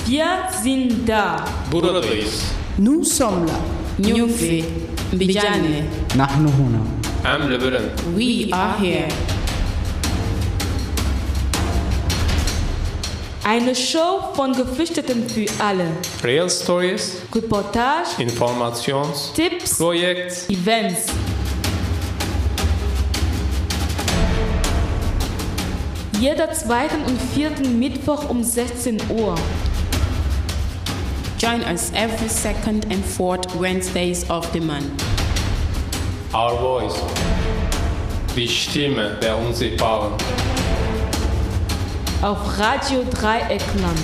Wir sind da. Buradayız. Nous sommes là. Nyufi, Mbijane. نحن هنا. Amleberen. We are here. Eine Show von Geflüchteten für alle. Real Stories, Reportage, Informations, Tipps, Projekt, Events. Jeder zweiten und vierten Mittwoch um 16 Uhr. Join us every second and fourth Wednesdays of the month. Our Voice. Die Stimme der Unsichtbaren. Auf Radio Dreieckland.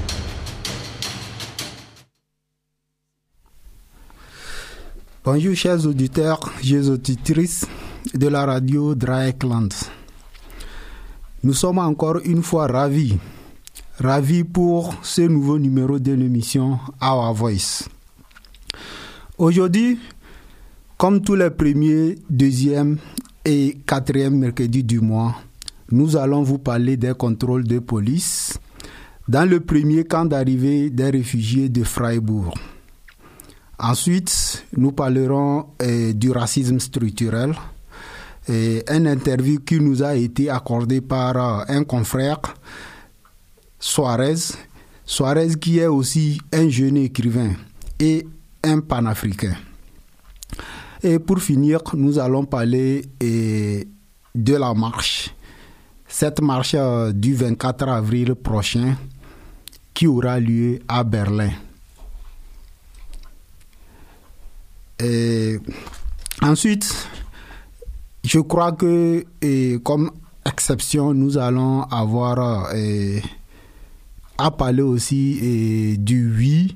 Bonjour chers auditeurs et auditrices de la radio Dreieckland. Nous sommes encore une fois ravis pour ce nouveau numéro de l'émission Our Voice. Aujourd'hui, comme tous les premiers, deuxième et quatrième mercredis du mois, nous allons vous parler des contrôles de police dans le premier camp d'arrivée des réfugiés de Freiburg. Ensuite, nous parlerons du racisme structurel, une interview qui nous a été accordée par un confrère, Suarez qui est aussi un jeune écrivain et un panafricain. Et pour finir, nous allons parler de la marche. Cette marche du 24 avril prochain qui aura lieu à Berlin. Ensuite, je crois que comme exception, nous allons avoir à parler aussi du 8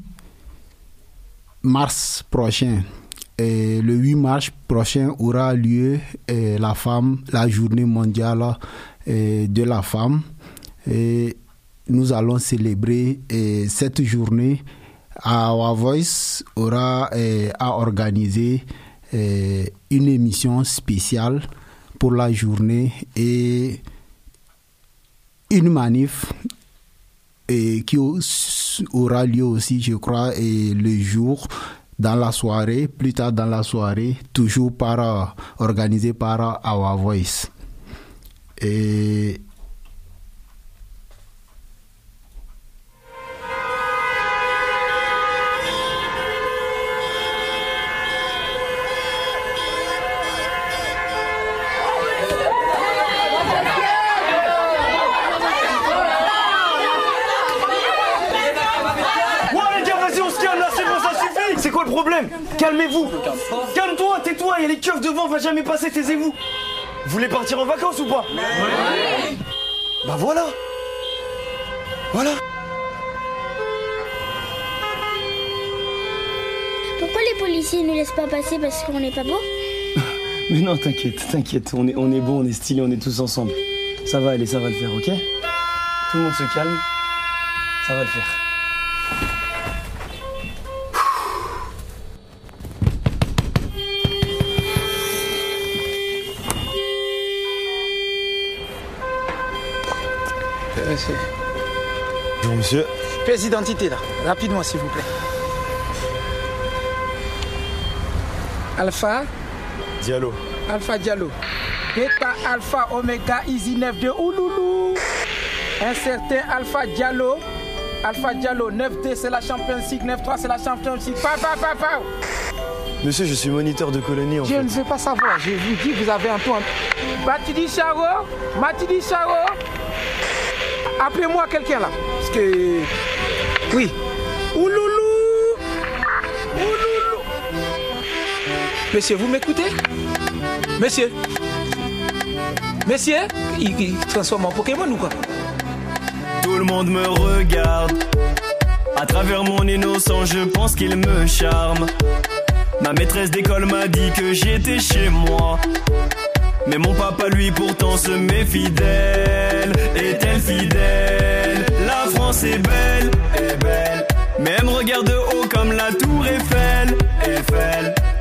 mars prochain. Le 8 mars prochain aura lieu la journée mondiale de la femme. Et nous allons célébrer cette journée. Our Voice aura à organiser une émission spéciale pour la journée et une manif qui aura lieu aussi, je crois, le jour dans la soirée, plus tard dans la soirée, toujours organisé par Our Voice. Et C'est quoi le problème? Calmez-vous. Calme-toi, tais-toi, il y a les keufs devant, on va jamais passer, taisez-vous. Vous voulez partir en vacances ou pas? Oui. Bah voilà. Voilà. Pourquoi les policiers ne laissent pas passer parce qu'on n'est pas beau? Mais non, t'inquiète, on est beau, on est stylé, on est tous ensemble. Ça va aller, ça va le faire, ok? Tout le monde se calme, ça va le faire. Bonjour monsieur. Pièce d'identité là, rapidement s'il vous plaît. Alpha Diallo. Alpha Diallo. Beta Alpha Omega Easy 9-2 Ouloulou. Un certain Alpha Diallo. Alpha Diallo 9-2 c'est la Champions League, 9-3 c'est la Champions League. Pa. Monsieur, je suis moniteur de colonie en fait. Je ne veux pas savoir, je vous dis vous avez un peu... Matidi Charo. Appelez-moi quelqu'un là. Parce que... Oui. Ouloulou. Monsieur, vous m'écoutez? Monsieur, il transforme en Pokémon ou quoi? Tout le monde me regarde. À travers mon innocence, je pense qu'il me charme. Ma maîtresse d'école m'a dit que j'étais chez moi. Mais mon papa lui pourtant se met fidèle. Est-elle fidèle? La France est belle, mais elle me regarde de haut comme la tour Eiffel.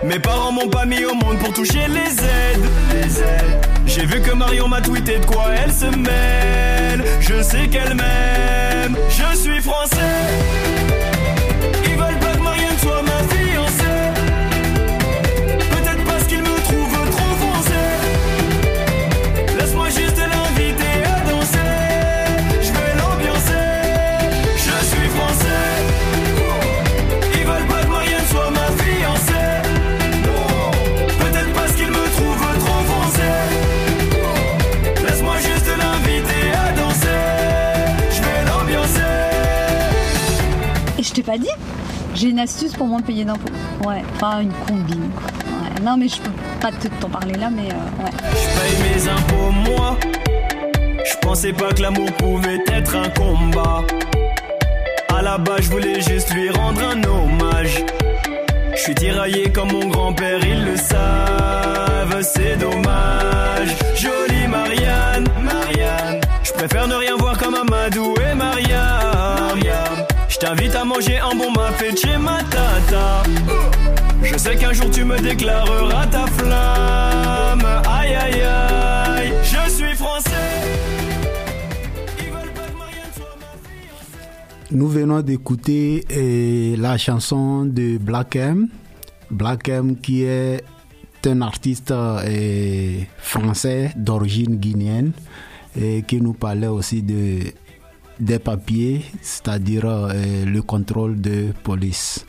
Mes parents m'ont pas mis au monde pour toucher les aides. J'ai vu que Marion m'a tweeté de quoi elle se mêle. Je sais qu'elle m'aime. Je suis français. Ils veulent pas que Marianne soit ma fiancée. Peut-être parce qu'ils me trouvent trop foncé. Laisse-moi juste l'inviter à danser. Je vais l'ambiancer. Je suis français. Ils veulent pas que Marianne soit ma fiancée. Peut-être parce qu'ils me trouvent trop foncé. Laisse-moi juste l'inviter à danser. Je vais l'ambiancer. Et je t'ai pas dit, j'ai une astuce pour moins payer d'impôts. Ouais, enfin une combine quoi. Ouais. Non mais je peux pas t'en parler là, mais ouais. Je paye mes impôts moi. Je pensais pas que l'amour pouvait être un combat. À la base je voulais juste lui rendre un hommage. Je suis tiraillé comme mon grand-père, ils le savent, c'est dommage. Jolie Marianne, je préfère ne rien voir comme Amadou et Mariam. Je t'invite à manger un bon mafé chez ma tata. Je sais qu'un jour tu me déclareras ta flamme. Aïe aïe aïe, je suis français. Ils veulent pas que Marianne soit ma fiancée. Nous venons d'écouter la chanson de Black M. Black M qui est un artiste français d'origine guinéenne et qui nous parlait aussi des papiers, c'est-à-dire le contrôle de police.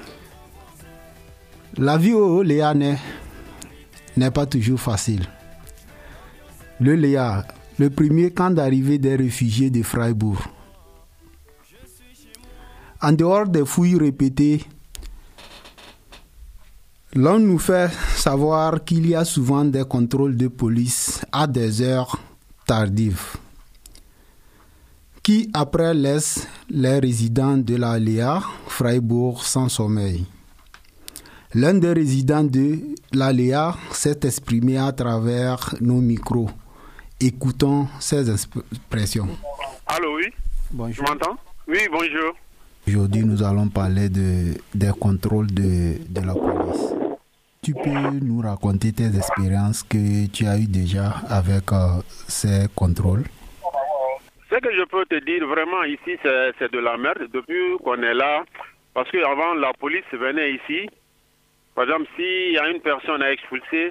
La vie au Léa n'est pas toujours facile. Le Léa, le premier camp d'arrivée des réfugiés de Freiburg. En dehors des fouilles répétées, l'on nous fait savoir qu'il y a souvent des contrôles de police à des heures tardives, qui après laissent les résidents de la Léa, Freiburg, sans sommeil. L'un des résidents de la Léa s'est exprimé à travers nos micros. Écoutons ses expressions. Allô, oui. Bonjour. Tu m'entends? Oui, bonjour. Aujourd'hui, nous allons parler des contrôles de la police. Tu peux nous raconter tes expériences que tu as eues déjà avec ces contrôles? Ce que je peux te dire vraiment ici, c'est de la merde depuis qu'on est là. Parce qu'avant, la police venait ici. Par exemple, s'il y a une personne à expulser,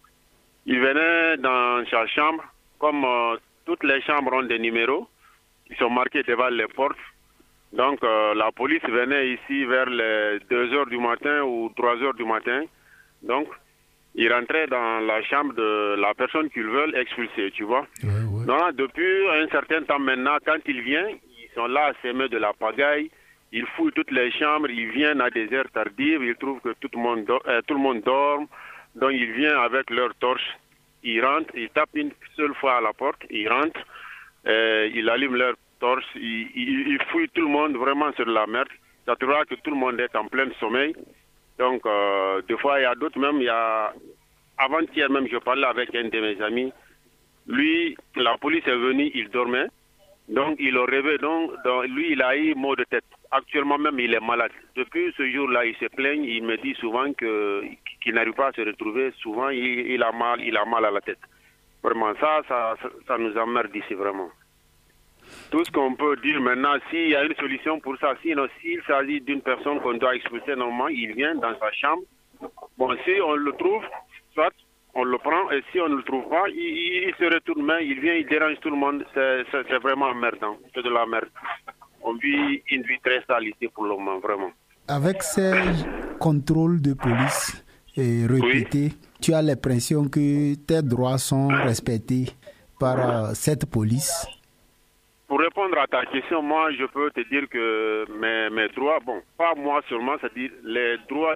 il venait dans sa chambre. Comme toutes les chambres ont des numéros, ils sont marqués devant les portes. Donc, la police venait ici vers les 2 heures du matin ou 3 heures du matin. Donc, ils rentraient dans la chambre de la personne qu'ils veulent expulser, tu vois. Ouais. Donc, depuis un certain temps maintenant, quand ils viennent, ils sont là à s'aimer de la pagaille. Ils fouillent toutes les chambres, ils viennent à des heures tardives, ils trouvent que tout le monde dort. Donc, ils viennent avec leur torche. Ils rentrent, ils tapent une seule fois à la porte, ils rentrent, ils allument leur torche, ils fouillent tout le monde vraiment sur la merde. Ça te voit que tout le monde est en plein sommeil. Donc, des fois, il y a d'autres même, avant-hier même, je parlais avec un de mes amis. Lui, la police est venue, il dormait. Donc, il a rêvé. Donc, lui, il a eu maux de tête. Actuellement même, il est malade. Depuis ce jour-là, il se plaigne. Il me dit souvent qu'il n'arrive pas à se retrouver. Souvent, il a mal à la tête. Vraiment, ça nous emmerde ici, vraiment. Tout ce qu'on peut dire maintenant, s'il y a une solution pour ça, sinon, s'il s'agit d'une personne qu'on doit expulser normalement, il vient dans sa chambre. Bon, si on le trouve, soit on le prend, et si on ne le trouve pas, il se retourne, mais il vient, il dérange tout le monde. C'est vraiment emmerdant. C'est de la merde. On vit une vie très sale ici pour le moment, vraiment. Avec ces contrôles de police répétés, oui, tu as l'impression que tes droits sont respectés par cette police? Pour répondre à ta question, moi, je peux te dire que mes droits, bon, pas moi seulement, c'est-à-dire les droits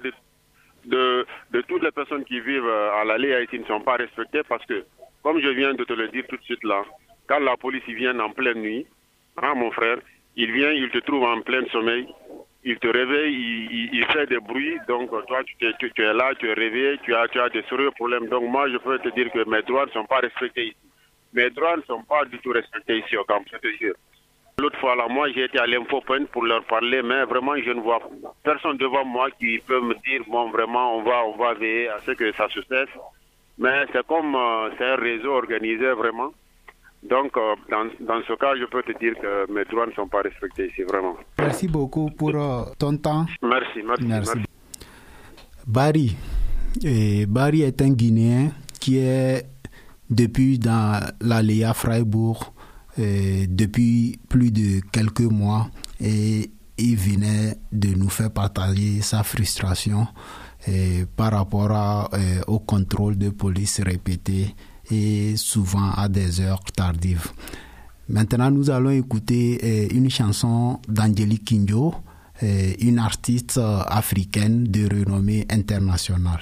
de toutes les personnes qui vivent à la Léa ici ne sont pas respectés parce que, comme je viens de te le dire tout de suite là, quand la police vient en pleine nuit, hein, mon frère, il vient, il te trouve en plein sommeil, il te réveille, il fait des bruits, donc toi tu es là, tu es réveillé, tu as des sérieux problèmes. Donc moi je peux te dire que mes droits ne sont pas respectés ici. Mes droits ne sont pas du tout respectés ici au camp, je te jure. L'autre fois, là, moi, j'ai été à l'Infopoint pour leur parler, mais vraiment, je ne vois personne devant moi qui peut me dire, bon, vraiment, on va veiller à ce que ça se cesse. Mais c'est comme, c'est un réseau organisé, vraiment. Donc, dans ce cas, je peux te dire que mes droits ne sont pas respectés ici, vraiment. Merci beaucoup pour ton temps. Merci. Barry est un Guinéen qui est depuis dans l'Aléa Freiburg depuis plus de quelques mois et il venait de nous faire partager sa frustration par rapport au contrôle de police répété et souvent à des heures tardives. Maintenant, nous allons écouter une chanson d'Angélique Kidjo, une artiste africaine de renommée internationale.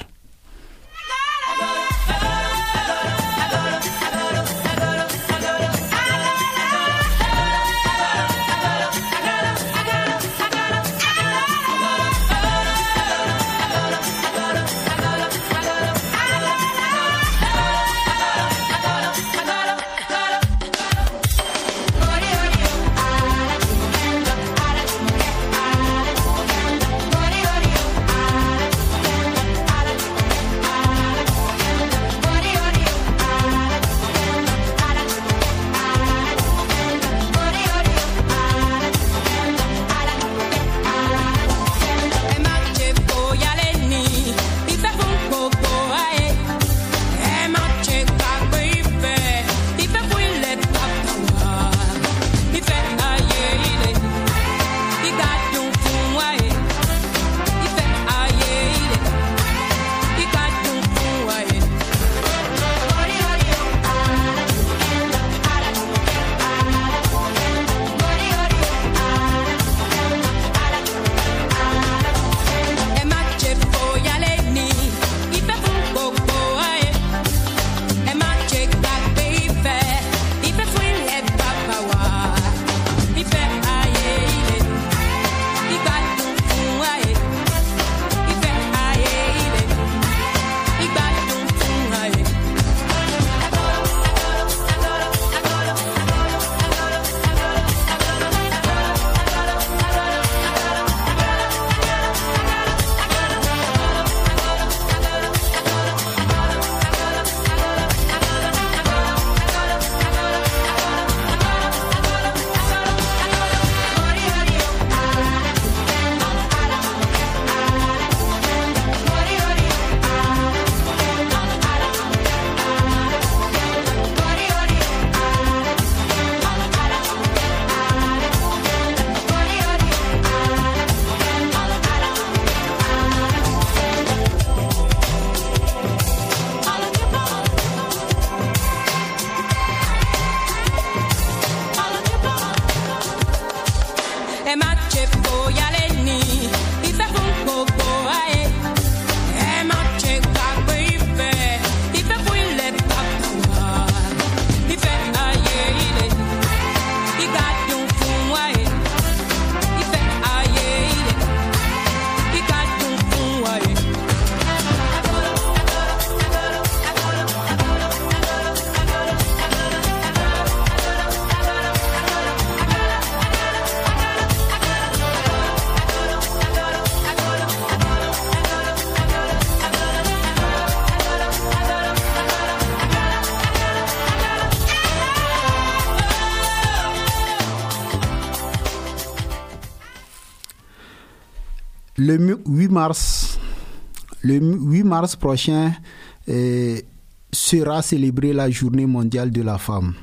Le 8 mars prochain sera célébrée la Journée mondiale de la femme.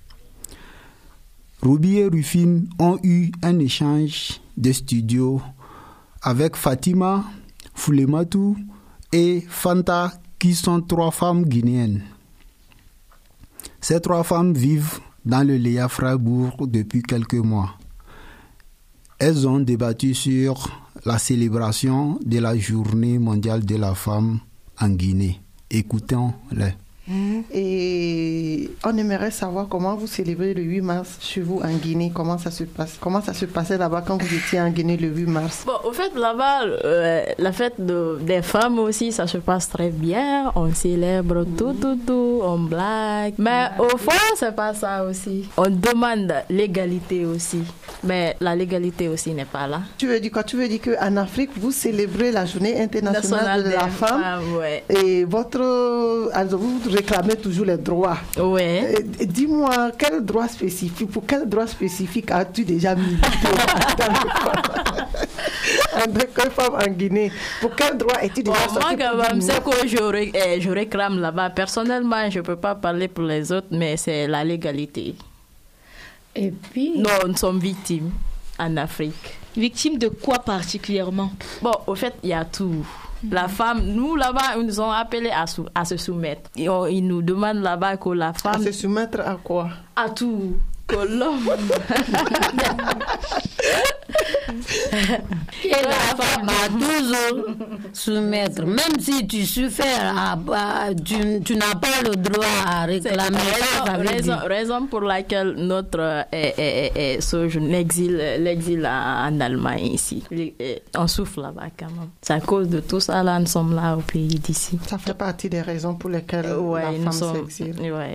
Ruby et Rufine ont eu un échange de studio avec Fatima, Foulematou et Fanta, qui sont 3 femmes guinéennes. Ces 3 femmes vivent dans le Léa Freiburg depuis quelques mois. Elles ont débattu sur la célébration de la Journée mondiale de la femme en Guinée. Écoutons-les. Et on aimerait savoir comment vous célébrez le 8 mars chez vous en Guinée. Comment ça se passe? Comment ça se passait là-bas quand vous étiez en Guinée le 8 mars? Bon, au fait, là-bas, la fête des femmes aussi, ça se passe très bien. On célèbre tout, on blague. Mais au fond, c'est pas ça aussi. On demande l'égalité aussi. Mais la légalité aussi n'est pas là. Tu veux dire quoi? Tu veux dire qu'en Afrique, vous célébrez la journée internationale de la femme. Ouais. Et vous réclamez toujours les droits. Oui. Dis-moi, pour quel droit spécifique as-tu déjà milité en tant que femme en Guinée? Pour quel droit es-tu déjà sorti? Moi, quand même, c'est que je réclame là-bas. Personnellement, je ne peux pas parler pour les autres, mais c'est la légalité. Et puis... Nous sommes victimes en Afrique. Victimes de quoi particulièrement? Bon, au fait, il y a tout. La femme, nous là-bas, ils nous ont appelés à se soumettre. Ils nous demandent là-bas que la femme... À se soumettre à quoi? À tout. Que l'homme... Et la femme a toujours soumettre. Même si tu souffres, tu n'as pas le droit à réclamer. Raison pour laquelle notre l'exil en Allemagne ici. On souffre là-bas quand même. C'est à cause de tout ça, là, nous sommes là au pays d'ici. Ça fait partie des raisons pour lesquelles la femme s'exile.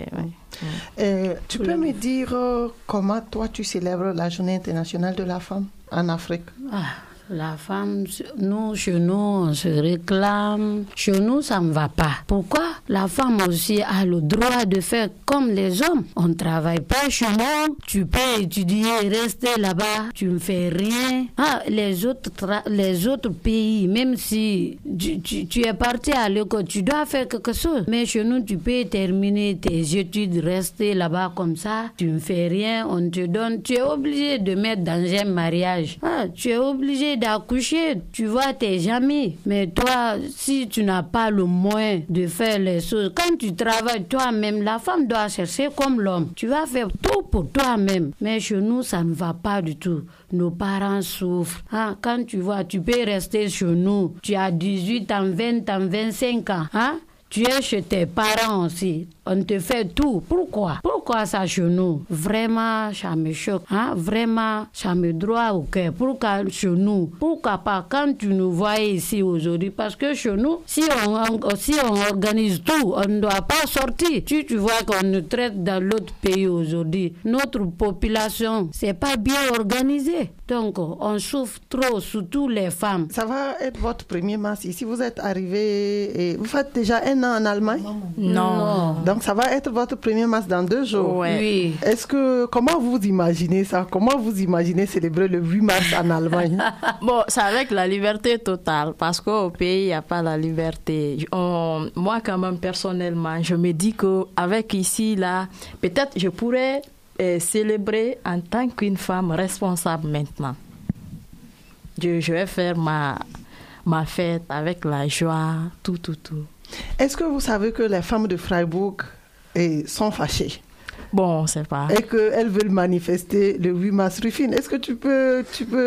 Tu peux me dire comment toi tu célèbres la journée internationale de la femme en Afrique? La femme, chez nous, on se réclame. Chez nous, ça ne va pas. Pourquoi? La femme aussi a le droit de faire comme les hommes. On ne travaille pas chez nous. Tu peux étudier, rester là-bas. Tu ne fais rien. Les autres pays, même si tu es parti à l'école, tu dois faire quelque chose. Mais chez nous, tu peux terminer tes études, rester là-bas comme ça. Tu ne fais rien. On te donne. Tu es obligé de mettre dans un mariage. Tu es obligé d'accoucher, tu vois tes amis. Mais toi, si tu n'as pas le moyen de faire les choses, quand tu travailles toi-même, la femme doit chercher comme l'homme. Tu vas faire tout pour toi-même. Mais chez nous, ça ne va pas du tout. Nos parents souffrent. Quand tu vois, tu peux rester chez nous. Tu as 18 ans, 20 ans, 25 ans. Tu es chez tes parents aussi. On te fait tout. Pourquoi ça chez nous? Vraiment, ça me choque. Vraiment, ça me droit au cœur. Pourquoi chez nous? Pourquoi pas quand tu nous vois ici aujourd'hui? Parce que chez nous, si on organise tout, on ne doit pas sortir. Tu vois qu'on nous traite dans l'autre pays aujourd'hui. Notre population, c'est pas bien organisé. Donc, on souffre trop, surtout les femmes. Ça va être votre premier mars ici. Vous êtes arrivé et vous faites déjà un an en Allemagne? Non. Donc, ça va être votre premier mars dans 2 jours. Oui. Comment vous imaginez ça? Comment vous imaginez célébrer le 8 mars en Allemagne? Bon, c'est avec la liberté totale, parce qu'au pays, il n'y a pas la liberté. Moi, quand même, personnellement, je me dis qu'avec ici, là, peut-être je pourrais célébrer en tant qu'une femme responsable maintenant. Je vais faire ma fête avec la joie, tout. Est-ce que vous savez que les femmes de Freiburg sont fâchées? Bon, on ne sait pas. Et qu'elles veulent manifester le 8 mars. Rufine, est-ce que tu peux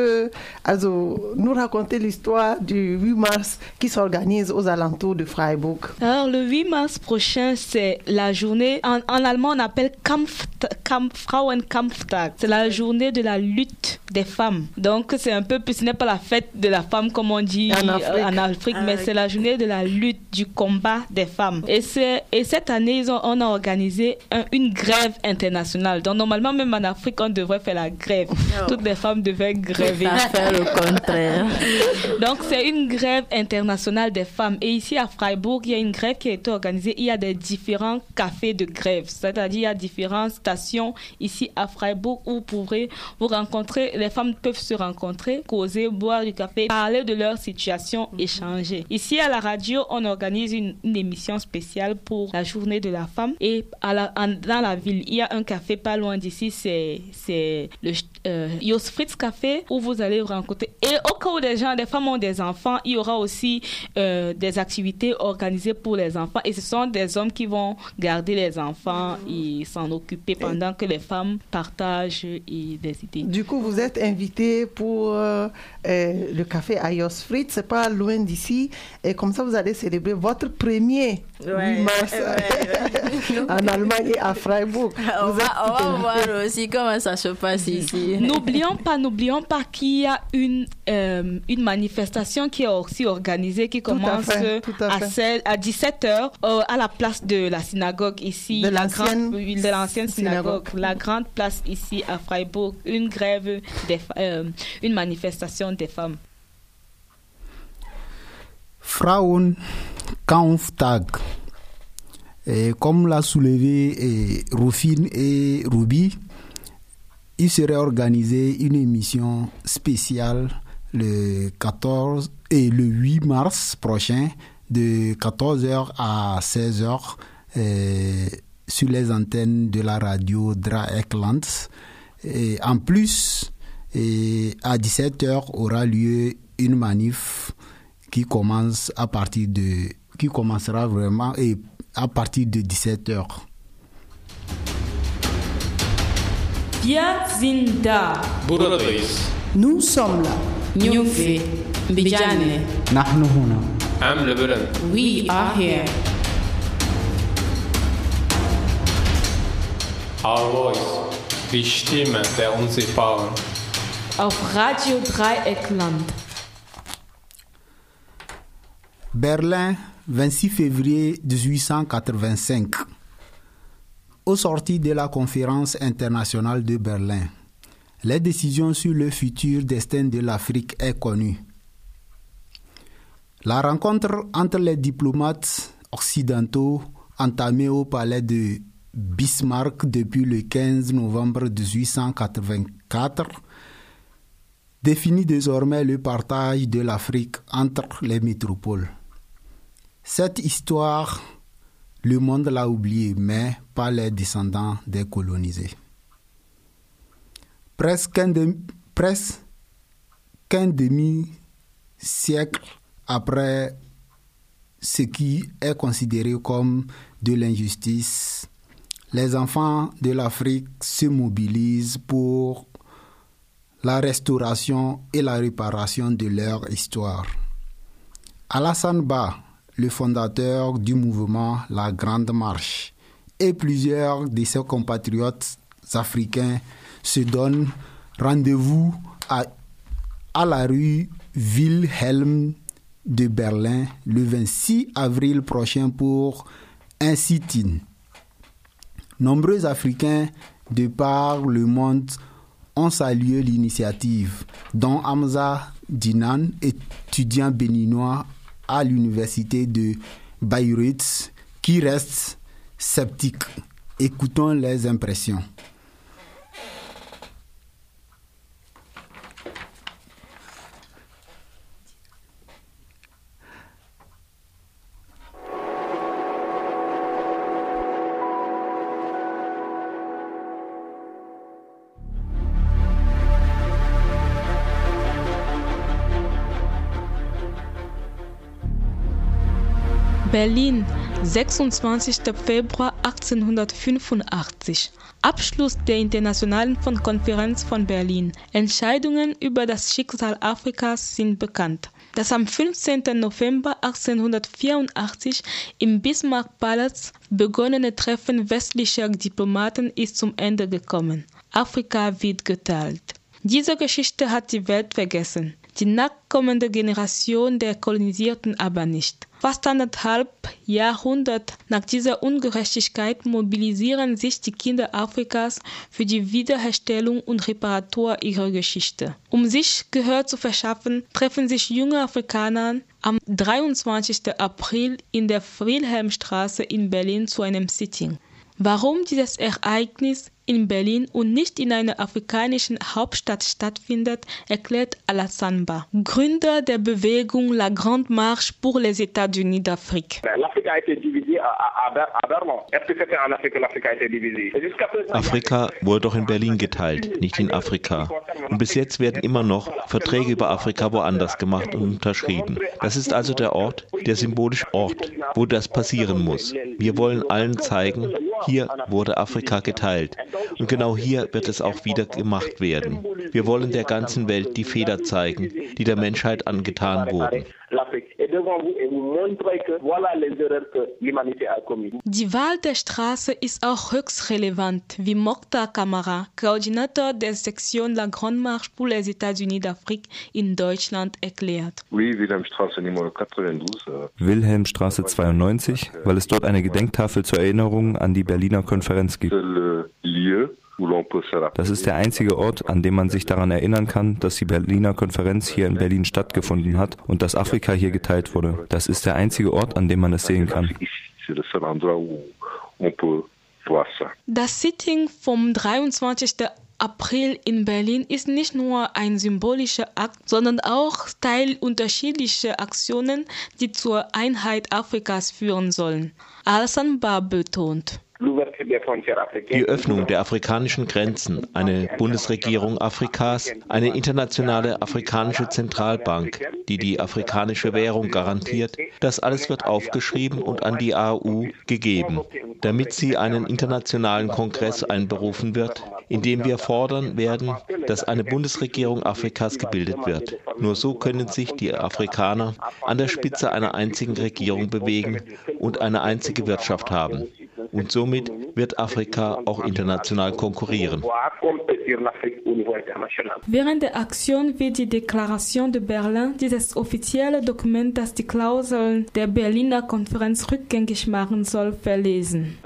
nous raconter l'histoire du 8 mars qui s'organise aux alentours de Freiburg? Alors, le 8 mars prochain, c'est la journée, en allemand, on appelle Frauenkampftag. C'est la journée de la lutte des femmes. Donc, c'est un peu, ce n'est pas la fête de la femme, comme on dit en Afrique, mais c'est la journée de la lutte, du combat des femmes. Et cette année, on a organisé une grève internationale. Donc, normalement, même en Afrique, on devrait faire la grève. Toutes les femmes devaient gréver. Faire le contraire. Donc, c'est une grève internationale des femmes. Et ici, à Freiburg, il y a une grève qui a été organisée. Il y a des différents cafés de grève. C'est-à-dire, il y a différentes stations ici à Freiburg où vous pourrez vous rencontrer. Les femmes peuvent se rencontrer, causer, boire du café, parler de leur situation, échanger. Ici, à la radio, on organise une émission spéciale pour la journée de la femme. Et dans la ville, il y a un café pas loin d'ici, c'est le Jos Fritz Café, où vous allez vous rencontrer. Et au cas où des femmes ont des enfants, il y aura aussi des activités organisées pour les enfants. Et ce sont des hommes qui vont garder les enfants et s'en occuper pendant que les femmes partagent des idées. Du coup, vous êtes invité pour le café à Jos Fritz, c'est pas loin d'ici. Et comme ça, vous allez célébrer votre premier 8 mars en Allemagne et à Freiburg. On va voir aussi comment ça se passe ici. N'oublions pas qu'il y a une manifestation qui est aussi organisée, qui commence à 17h à la place de la synagogue ici, de l'ancienne synagogue, la grande place ici à Freiburg, une grève, une manifestation des femmes. Frauenkampftag. Et comme l'a soulevé Rufine et Ruby, il serait organisé une émission spéciale le 14 et le 8 mars prochain de 14h à 16h sur les antennes de la radio Dreieckland. Et en plus, à 17h aura lieu une manif qui commencera vraiment à partir de 17h. Wir sind da. Nous sommes là. Nyufi, Bijane. Nahnu huna. Am Lebanon. We are here. Our voice. Die Stimme der Unsichtbaren. Auf Radio Dreieckland. Berlin, 26 février 1885. Au sortir de la conférence internationale de Berlin, les décisions sur le futur destin de l'Afrique est connue. La rencontre entre les diplomates occidentaux entamée au palais de Bismarck depuis le 15 novembre 1884 définit désormais le partage de l'Afrique entre les métropoles. Cette histoire, le monde l'a oubliée, mais pas les descendants des colonisés. Presque un demi-siècle après ce qui est considéré comme de l'injustice, les enfants de l'Afrique se mobilisent pour la restauration et la réparation de leur histoire. Alassane Ba, le fondateur du mouvement La Grande Marche, et plusieurs de ses compatriotes africains se donnent rendez-vous à la rue Wilhelm de Berlin le 26 avril prochain pour un sit-in. Nombreux Africains de par le monde ont salué l'initiative, dont Hamza Dinan, étudiant béninois à l'université de Bayreuth, qui reste sceptique. Écoutons les impressions. Berlin, 26. Februar 1885. Abschluss der Internationalen Konferenz von Berlin. Entscheidungen über das Schicksal Afrikas sind bekannt. Das am 15. November 1884 im Bismarck-Palast begonnene Treffen westlicher Diplomaten ist zum Ende gekommen. Afrika wird geteilt. Diese Geschichte hat die Welt vergessen. Die nachkommende Generation der Kolonisierten aber nicht. Fast 1,5 Jahrhunderte nach dieser Ungerechtigkeit mobilisieren sich die Kinder Afrikas für die Wiederherstellung und Reparatur ihrer Geschichte. Um sich Gehör zu verschaffen, treffen sich junge Afrikaner am 23. April in der Wilhelmstraße in Berlin zu einem Sitting. Warum dieses Ereignis in Berlin und nicht in einer afrikanischen Hauptstadt stattfindet, erklärt Alassane Ba, Gründer der Bewegung La Grande Marche pour les États-Unis d'Afrique. L'Afrique a été divisée à Berlin. Est-ce que c'était en Afrique que l'Afrique a été divisée? Afrika wurde doch in Berlin geteilt, nicht in Afrika. Und bis jetzt werden immer noch Verträge über Afrika woanders gemacht und unterschrieben. Das ist also der Ort, der symbolische Ort, wo das passieren muss. Wir wollen allen zeigen, hier wurde Afrika geteilt. Und genau hier wird es auch wieder gemacht werden. Wir wollen der ganzen Welt die Fehler zeigen, die der Menschheit angetan wurden. Die Wahl der Straße ist auch höchst relevant, wie Mokhtar Kamara, Koordinator der Sektion La Grande Marche pour les États-Unis d'Afrique in Deutschland, erklärt. Wilhelmstraße 92, weil es dort eine Gedenktafel zur Erinnerung an die Berliner Konferenz gibt. Das ist der einzige Ort, an dem man sich daran erinnern kann, dass die Berliner Konferenz hier in Berlin stattgefunden hat und dass Afrika hier geteilt wurde. Das ist der einzige Ort, an dem man es sehen kann. Das Sitting vom 23. April in Berlin ist nicht nur ein symbolischer Akt, sondern auch Teil unterschiedlicher Aktionen, die zur Einheit Afrikas führen sollen. Alassane Ba betont. Die Öffnung der afrikanischen Grenzen, eine Bundesregierung Afrikas, eine internationale afrikanische Zentralbank, die die afrikanische Währung garantiert, das alles wird aufgeschrieben und an die AU gegeben, damit sie einen internationalen Kongress einberufen wird, in dem wir fordern werden, dass eine Bundesregierung Afrikas gebildet wird. Nur so können sich die Afrikaner an der Spitze einer einzigen Regierung bewegen und eine einzige Wirtschaft haben. Und somit wird Afrika auch international konkurrieren. Während der Aktion wird die Deklaration de Berlin, dieses offizielle Dokument, das die Klauseln der Berliner Konferenz rückgängig machen soll, verlesen.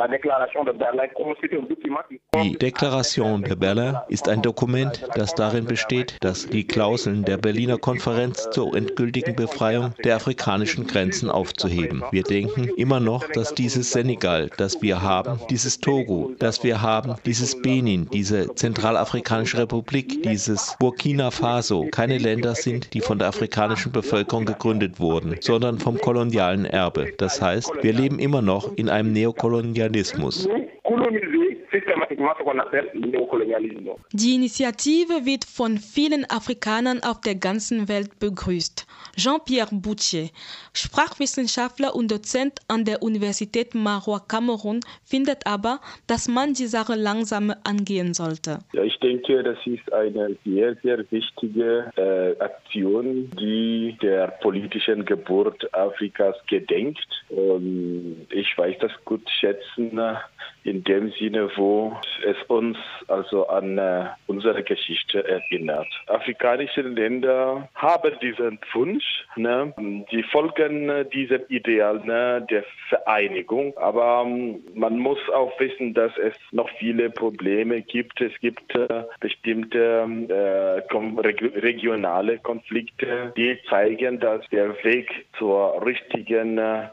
Die Deklaration de Berlin ist ein Dokument, das darin besteht, dass die Klauseln der Berliner Konferenz zur endgültigen Befreiung der afrikanischen Grenzen aufzuheben. Wir denken immer noch, dass dieses Senegal, das wir haben, dieses Togo, das wir haben, dieses Benin, diese Zentralafrikanische Republik, dieses Burkina Faso keine Länder sind, die von der afrikanischen Bevölkerung gegründet wurden, sondern vom kolonialen Erbe. Das heißt, wir leben immer noch in einem Neokolonialismus. Die Initiative wird von vielen Afrikanern auf der ganzen Welt begrüßt. Jean-Pierre Boutier, Sprachwissenschaftler und Dozent an der Universität Maroua Kamerun, findet aber, dass man die Sache langsam angehen sollte. Ja, ich denke, das ist eine sehr, sehr wichtige Aktion, die der politischen Geburt Afrikas gedenkt. Und ich weiß das gut schätzen, in dem Sinne, wo es uns also an unsere Geschichte erinnert. Afrikanische Länder haben diesen Wunsch, die folgen diesem Ideal der Vereinigung, aber man muss auch wissen, dass es noch viele Probleme gibt. Es gibt bestimmte regionale Konflikte, die zeigen, dass der Weg zur richtigen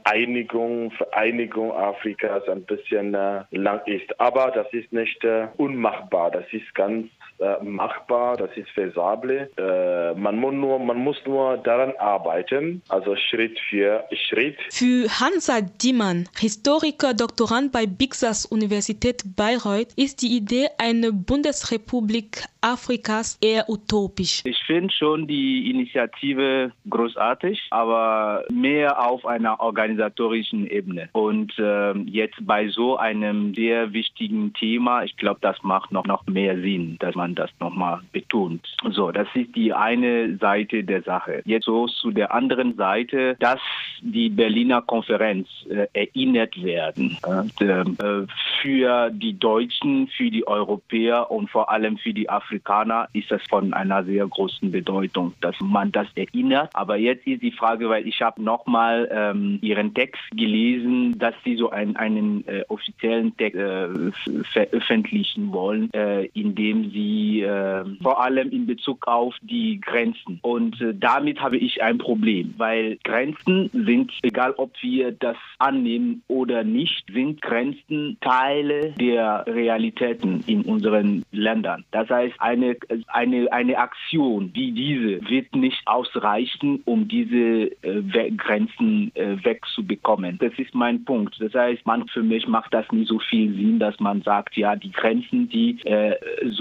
Vereinigung Afrikas ein bisschen lang ist. Aber das ist nicht unmachbar. Das ist ganz machbar. Das ist feasible. Man muss nur daran arbeiten, also Schritt für Schritt. Für Hansa Diemann, Historiker, Doktorand bei Bixas Universität Bayreuth, ist die Idee einer Bundesrepublik Afrikas eher utopisch. Ich finde schon die Initiative großartig, aber mehr auf einer organisatorischen Ebene. Und jetzt bei so einem sehr wichtigen Thema, ich glaube, das macht noch mehr Sinn, dass man das nochmal betont. So, das ist die eine Seite der Sache. Jetzt so zu der anderen Seite, dass die Berliner Konferenz erinnert werden. Für die Deutschen, für die Europäer und vor allem für die Afrikaner ist das von einer sehr großen Bedeutung, dass man das erinnert. Aber jetzt ist die Frage, weil ich habe nochmal Ihren Text gelesen, dass Sie so einen offiziellen Text veröffentlichen wollen, indem Sie vor allem in Bezug auf die Grenzen. Und damit habe ich ein Problem, weil Grenzen sind, egal ob wir das annehmen oder nicht, sind Grenzen Teile der Realitäten in unseren Ländern. Das heißt, eine Aktion wie diese wird nicht ausreichen, um diese Grenzen wegzubekommen. Das ist mein Punkt. Das heißt, für mich macht das nicht so viel Sinn, dass man sagt, ja, die Grenzen, die so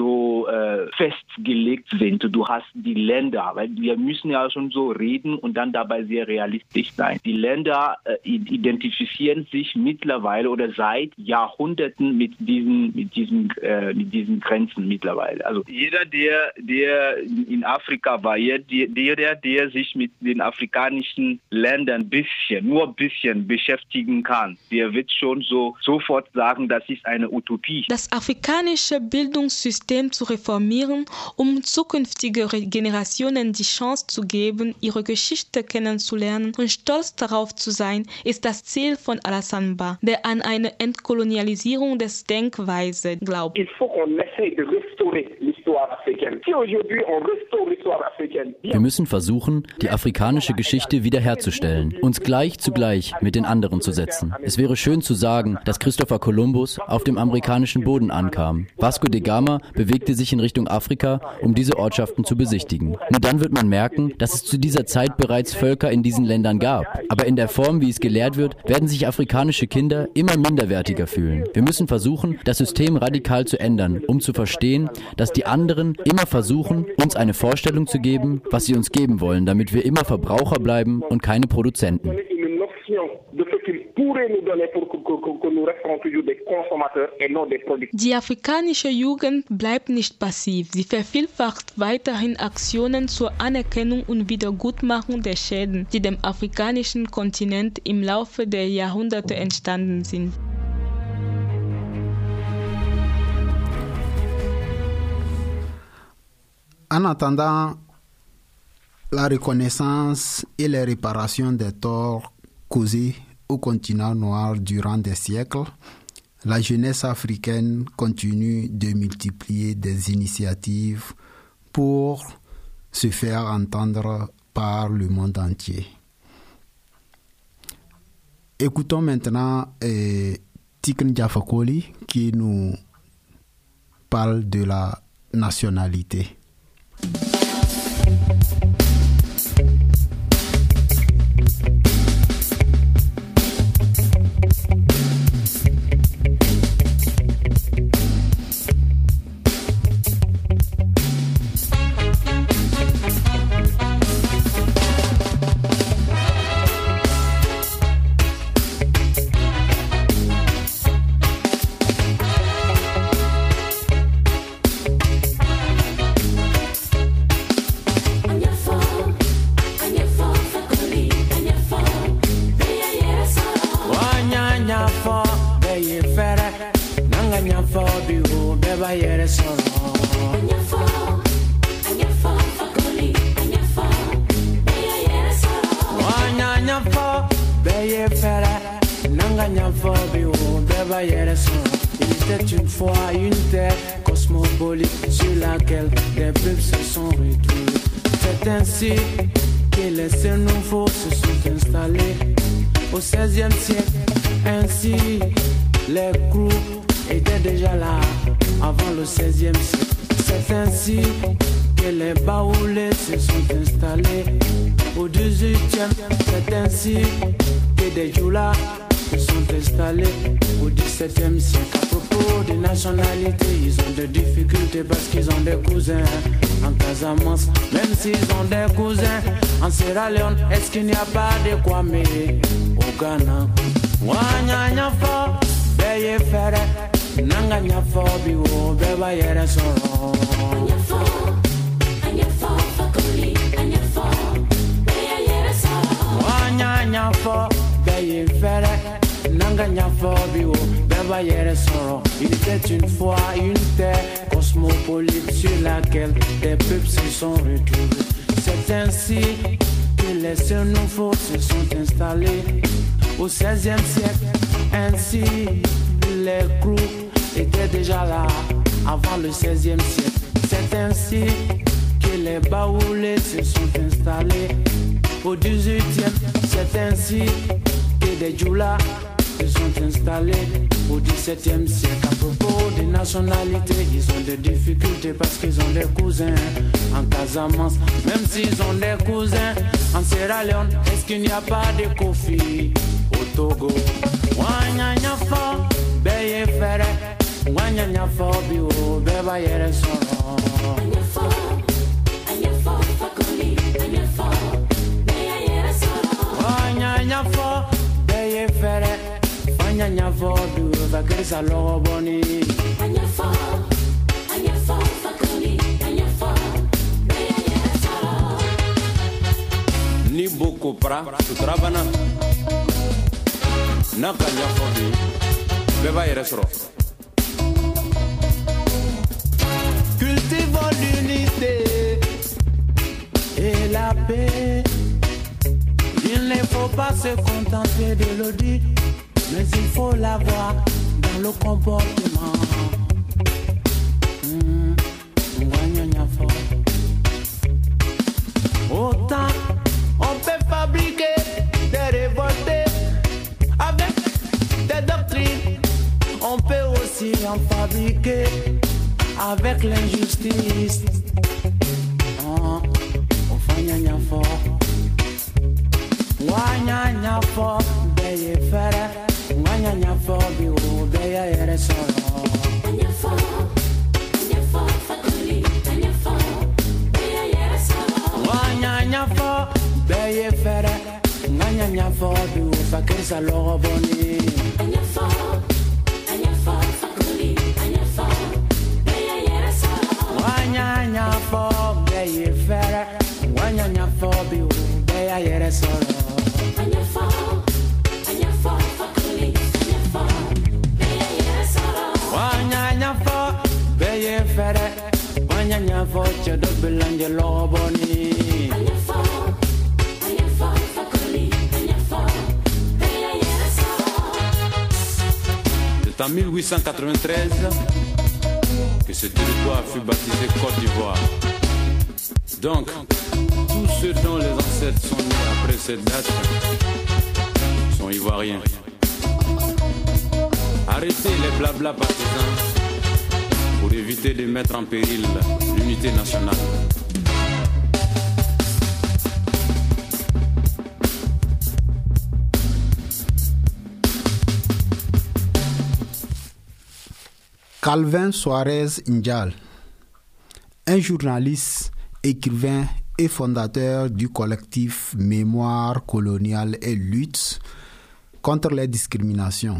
so festgelegt sind. Du hast die Länder, weil wir müssen ja schon so reden und dann dabei sehr realistisch sein. Die Länder identifizieren sich mittlerweile oder seit Jahrhunderten mit diesen Grenzen mittlerweile. Also jeder, der in Afrika war, der sich mit den afrikanischen Ländern nur ein bisschen beschäftigen kann, der wird schon sofort sagen, das ist eine Utopie. Das afrikanische Bildungssystem zu reformieren, um zukünftige Generationen die Chance zu geben, ihre Geschichte kennenzulernen und stolz darauf zu sein, ist das Ziel von Alassane Ba, der an eine Entkolonialisierung des Denkweise glaubt. Il faut qu'on essaye de restaurer l'histoire africaine. Si aujourd'hui on restaure l'histoire africaine. Wir müssen versuchen, die afrikanische Geschichte wiederherzustellen, uns gleich zu gleich mit den anderen zu setzen. Es wäre schön zu sagen, dass Christopher Columbus auf dem amerikanischen Boden ankam. Vasco da Gama bewegte sich in Richtung Afrika, um diese Ortschaften zu besichtigen. Nur dann wird man merken, dass es zu dieser Zeit bereits Völker in diesen Ländern gab. Aber in der Form, wie es gelehrt wird, werden sich afrikanische Kinder immer minderwertiger fühlen. Wir müssen versuchen, das System radikal zu ändern, um zu verstehen, dass die anderen immer versuchen, uns eine Vorstellung zu geben, was sie uns geben wollen, damit wir immer Verbraucher bleiben und keine Produzenten. Die afrikanische Jugend bleibt nicht passiv. Sie vervielfacht weiterhin Aktionen zur Anerkennung und Wiedergutmachung der Schäden, die dem afrikanischen Kontinent im Laufe der Jahrhunderte entstanden sind. En attendant la reconnaissance et les réparations des torts causés au continent noir durant des siècles, la jeunesse africaine continue de multiplier des initiatives pour se faire entendre par le monde entier. Écoutons maintenant Tiken Jah Fakoly qui nous parle de la nationalité. Il était une fois une terre cosmopolite sur laquelle des peuples se sont retrouvés. C'est ainsi que les seuls nouveaux se sont installés au XVIe siècle. Ainsi, les crews étaient déjà là avant le XVIe siècle. C'est ainsi que les baoulés se sont installés au XVIIIe. C'est ainsi que des djoulas se sont installés au XVIIe siècle. À propos des nationalités, ils ont des difficultés parce qu'ils ont des cousins en Casamance, même s'ils ont des cousins en Sierra Leone. Est-ce qu'il n'y a pas de Kwame au Ghana? Wanya fo, beye fere, nanga nya fo biwo, beba yere soro. Anya fo, Fakoly, anya fo, beye yere soro. Wanya fo, beye fere. Il était une fois une terre cosmopolite sur laquelle des peuples se sont retrouvés. C'est ainsi que les seuls nouveaux se sont installés au XVIe siècle. Ainsi, les crews étaient déjà là avant le XVIe siècle. C'est ainsi que les baoulés se sont installés au XVIIIe. C'est ainsi que des djoulas se sont installés au XVIIe siècle. À propos des nationalités, ils ont des difficultés parce qu'ils ont des cousins en Casamance, même s'ils ont des cousins en Sierra Leone. Est-ce qu'il n'y a pas de Kofi au Togo? Wanyanya fo, beye fere, wanyanya fo biwo, beba yere soro. Wanyanya vodu vakerisa logo boni. Anyafo fakoli, anyafo beya yere solo. Ni boko pra sutrabana. Naka nyafo bi beba yere solo. Cultivons l'unité et la paix. Il ne faut pas se contenter de le dire, mais il faut l'avoir dans le comportement. Autant on peut fabriquer des révoltés avec des doctrines, on peut aussi en fabriquer avec l'injustice. On fait gna fort. Wanyanya fo beye fere, wanyanya fo bi o beye yere solo. Anyafo fakoli, anyafo beye yere solo. Wanyanya fo beye fere, wanyanya fo bi o fakirisa logo boni. Anyafo fakoli, anyafo beye yere solo. Wanyanya fo beye fere, wanyanya fo bi o beye yere solo. C'est en 1893 que ce territoire fut baptisé Côte d'Ivoire. Donc, tous ceux dont les ancêtres sont nés après cette date sont ivoiriens. Arrêtez les blabla partisans pour éviter de mettre en péril l'unité nationale. Calvin Suarez Njal, un journaliste, écrivain et fondateur du collectif Mémoire coloniale et lutte contre les discriminations.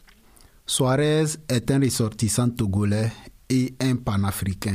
Suarez est un ressortissant togolais et un panafricain.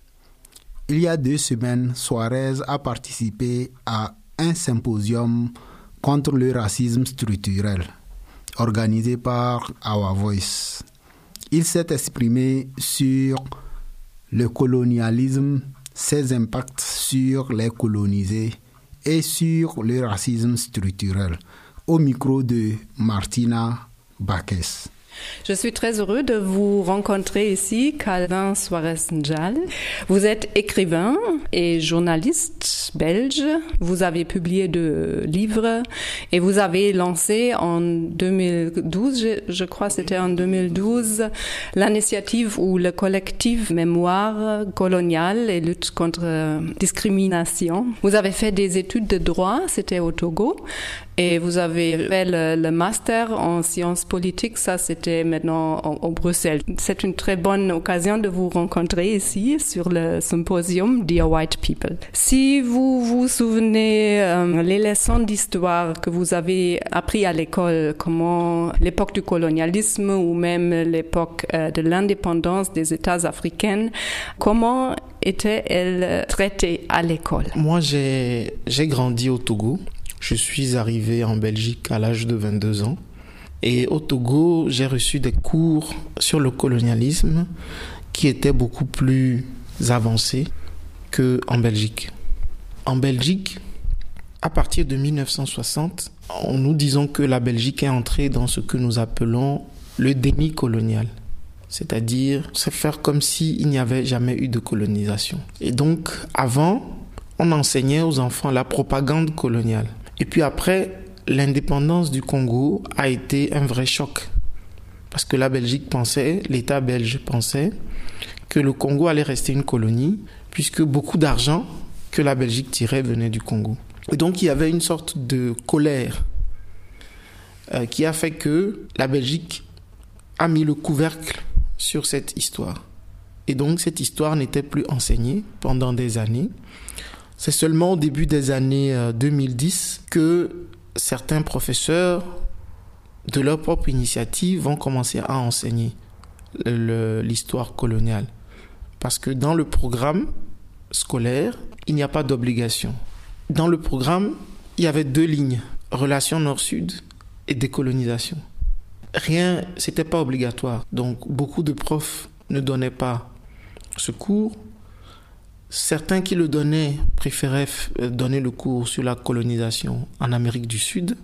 Il y a 2 semaines, Suarez a participé à un symposium contre le racisme structurel organisé par Our Voice. Il s'est exprimé sur le colonialisme, ses impacts sur les colonisés et sur le racisme structurel. Au micro de Martina Baques. Je suis très heureux de vous rencontrer ici, Calvin Suarez Njal. Vous êtes écrivain et journaliste belge. Vous avez publié 2 livres et vous avez lancé en 2012, je crois c'était en 2012, l'initiative ou le collectif Mémoire coloniale et lutte contre discrimination. Vous avez fait des études de droit, c'était au Togo. Et vous avez fait le master en sciences politiques, ça c'était maintenant au Bruxelles. C'est une très bonne occasion de vous rencontrer ici sur le symposium Dear White People. Si vous vous souvenez les leçons d'histoire que vous avez appris à l'école, comment l'époque du colonialisme ou même l'époque de l'indépendance des États africains, comment était-elle traitée à l'école? Moi, j'ai grandi au Togo. Je suis arrivé en Belgique à l'âge de 22 ans. Et au Togo, j'ai reçu des cours sur le colonialisme qui étaient beaucoup plus avancés qu'en Belgique. En Belgique, à partir de 1960, nous disons que la Belgique est entrée dans ce que nous appelons le déni colonial. C'est-à-dire se faire comme s'il n'y avait jamais eu de colonisation. Et donc, avant, on enseignait aux enfants la propagande coloniale. Et puis après, l'indépendance du Congo a été un vrai choc. Parce que la Belgique pensait, l'État belge pensait, que le Congo allait rester une colonie, puisque beaucoup d'argent que la Belgique tirait venait du Congo. Et donc il y avait une sorte de colère qui a fait que la Belgique a mis le couvercle sur cette histoire. Et donc cette histoire n'était plus enseignée pendant des années. C'est seulement au début des années 2010 que certains professeurs de leur propre initiative, vont commencer à enseigner l'histoire coloniale. Parce que dans le programme scolaire, il n'y a pas d'obligation. Dans le programme, il y avait 2 lignes, relations nord-sud et décolonisation. Rien, c'était pas obligatoire. Donc, beaucoup de profs ne donnaient pas ce cours. Certains qui le donnaient préféraient donner le cours sur la colonisation en Amérique du Sud.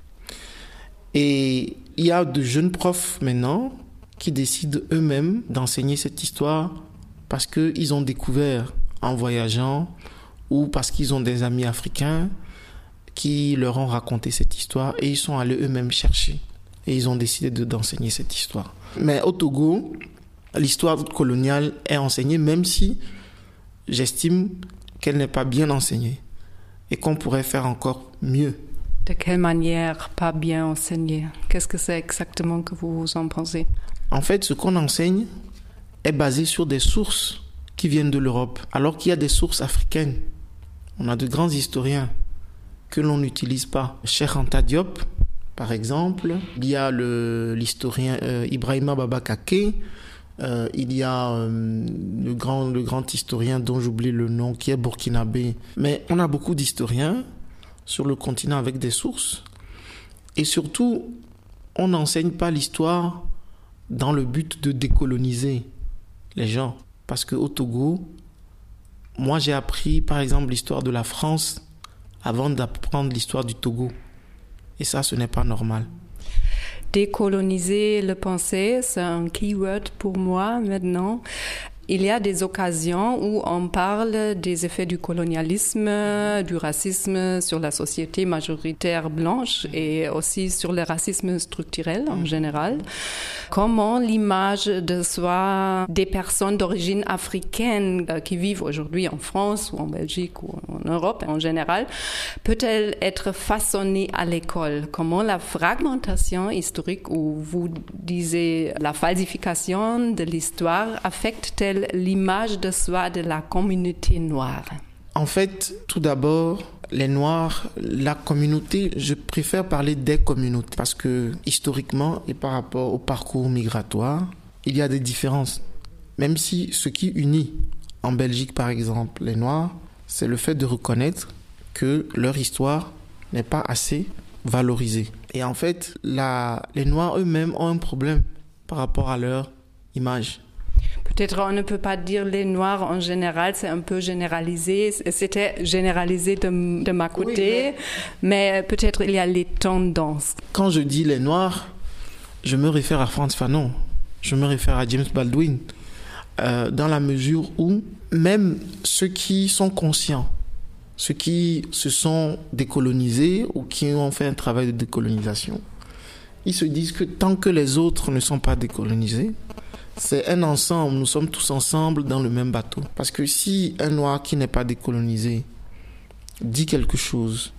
Et il y a de jeunes profs maintenant qui décident eux-mêmes d'enseigner cette histoire parce qu'ils ont découvert en voyageant ou parce qu'ils ont des amis africains qui leur ont raconté cette histoire et ils sont allés eux-mêmes chercher et ils ont décidé d'enseigner cette histoire. Mais au Togo, l'histoire coloniale est enseignée même si j'estime qu'elle n'est pas bien enseignée et qu'on pourrait faire encore mieux. De quelle manière pas bien enseignée? Qu'est-ce que c'est exactement que vous en pensez? En fait, ce qu'on enseigne est basé sur des sources qui viennent de l'Europe, alors qu'il y a des sources africaines. On a de grands historiens que l'on n'utilise pas. Cheikh Anta Diop, par exemple. Il y a l'historien Ibrahima Baba Kaké. Il y a le grand historien dont j'oublie le nom, qui est burkinabé. Mais on a beaucoup d'historiens sur le continent avec des sources. Et surtout, on n'enseigne pas l'histoire dans le but de décoloniser les gens. Parce qu'au Togo, moi j'ai appris par exemple l'histoire de la France avant d'apprendre l'histoire du Togo. Et ça, ce n'est pas normal. Décoloniser le pensée, c'est un keyword pour moi maintenant. Il y a des occasions où on parle des effets du colonialisme, du racisme sur la société majoritaire blanche et aussi sur le racisme structurel en général. Comment l'image de soi des personnes d'origine africaine qui vivent aujourd'hui en France ou en Belgique ou en Europe en général peut-elle être façonnée à l'école? Comment la fragmentation historique ou vous disiez la falsification de l'histoire affecte-t-elle l'image de soi de la communauté noire? En fait, tout d'abord, les Noirs, la communauté, je préfère parler des communautés parce que historiquement et par rapport au parcours migratoire, il y a des différences. Même si ce qui unit en Belgique, par exemple, les Noirs, c'est le fait de reconnaître que leur histoire n'est pas assez valorisée. Et en fait, les Noirs eux-mêmes ont un problème par rapport à leur image. Peut-être on ne peut pas dire les Noirs en général, c'est un peu généralisé. C'était généralisé de ma côté, oui, mais peut-être il y a les tendances. Quand je dis les Noirs, je me réfère à Frantz Fanon, je me réfère à James Baldwin, dans la mesure où même ceux qui sont conscients, ceux qui se sont décolonisés ou qui ont fait un travail de décolonisation, ils se disent que tant que les autres ne sont pas décolonisés, c'est un ensemble, nous sommes tous ensemble dans le même bateau. Parce que si un Noir qui n'est pas décolonisé dit quelque chose,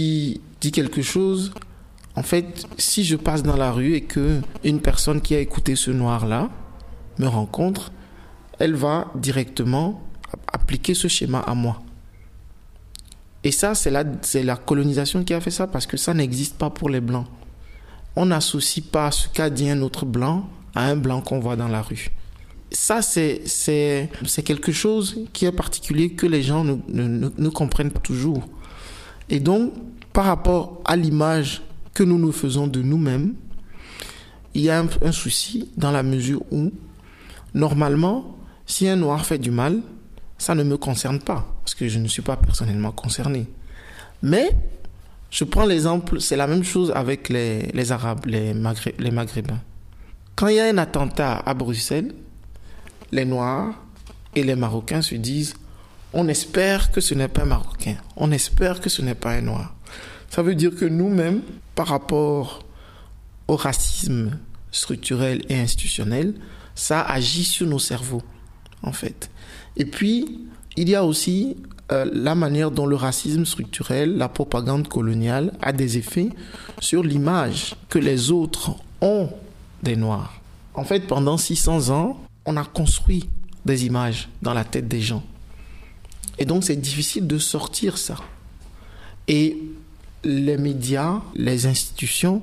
en fait, si je passe dans la rue et que une personne qui a écouté ce Noir-là me rencontre, elle va directement appliquer ce schéma à moi. Et ça, c'est la colonisation qui a fait ça, parce que ça n'existe pas pour les Blancs. On n'associe pas ce qu'a dit un autre Blanc à un Blanc qu'on voit dans la rue. Ça, c'est quelque chose qui est particulier que les gens ne comprennent pas toujours. Et donc, par rapport à l'image que nous nous faisons de nous-mêmes, il y a un souci dans la mesure où, normalement, si un Noir fait du mal, ça ne me concerne pas, parce que je ne suis pas personnellement concerné. Mais, je prends l'exemple, c'est la même chose avec les Arabes, les Maghrébins. Quand il y a un attentat à Bruxelles, les Noirs et les Marocains se disent « on espère que ce n'est pas un Marocain, on espère que ce n'est pas un Noir ». Ça veut dire que nous-mêmes, par rapport au racisme structurel et institutionnel, ça agit sur nos cerveaux, en fait. Et puis, il y a aussi la manière dont le racisme structurel, la propagande coloniale, a des effets sur l'image que les autres ont des Noirs. En fait, pendant 600 ans, on a construit des images dans la tête des gens. Et donc, c'est difficile de sortir ça. Et les médias, les institutions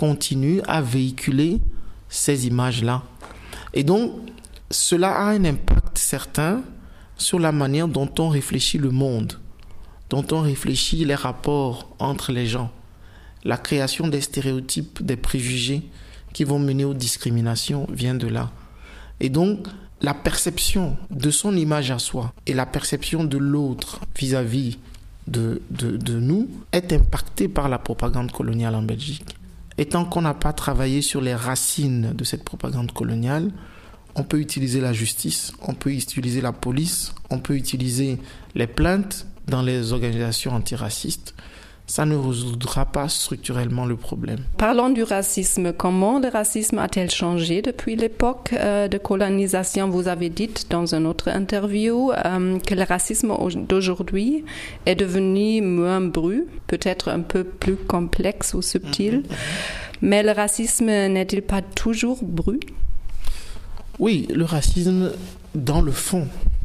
continue à véhiculer ces images-là. Et donc, cela a un impact certain sur la manière dont on réfléchit le monde, dont on réfléchit les rapports entre les gens, la création des stéréotypes, des préjugés qui vont mener aux discriminations vient de là. Et donc, la perception de son image à soi et la perception de l'autre vis-à-vis de nous est impactée par la propagande coloniale en Belgique. Et tant qu'on n'a pas travaillé sur les racines de cette propagande coloniale, on peut utiliser la justice, on peut utiliser la police, on peut utiliser les plaintes dans les organisations antiracistes. Ça ne résoudra pas structurellement le problème. Parlons du racisme. Comment le racisme a-t-il changé depuis l'époque de colonisation? Vous avez dit dans une autre interview que le racisme d'aujourd'hui est devenu moins brut, peut-être un peu plus complexe ou subtil. Mais le racisme n'est-il pas toujours brut? Oui, le racisme, dans le fond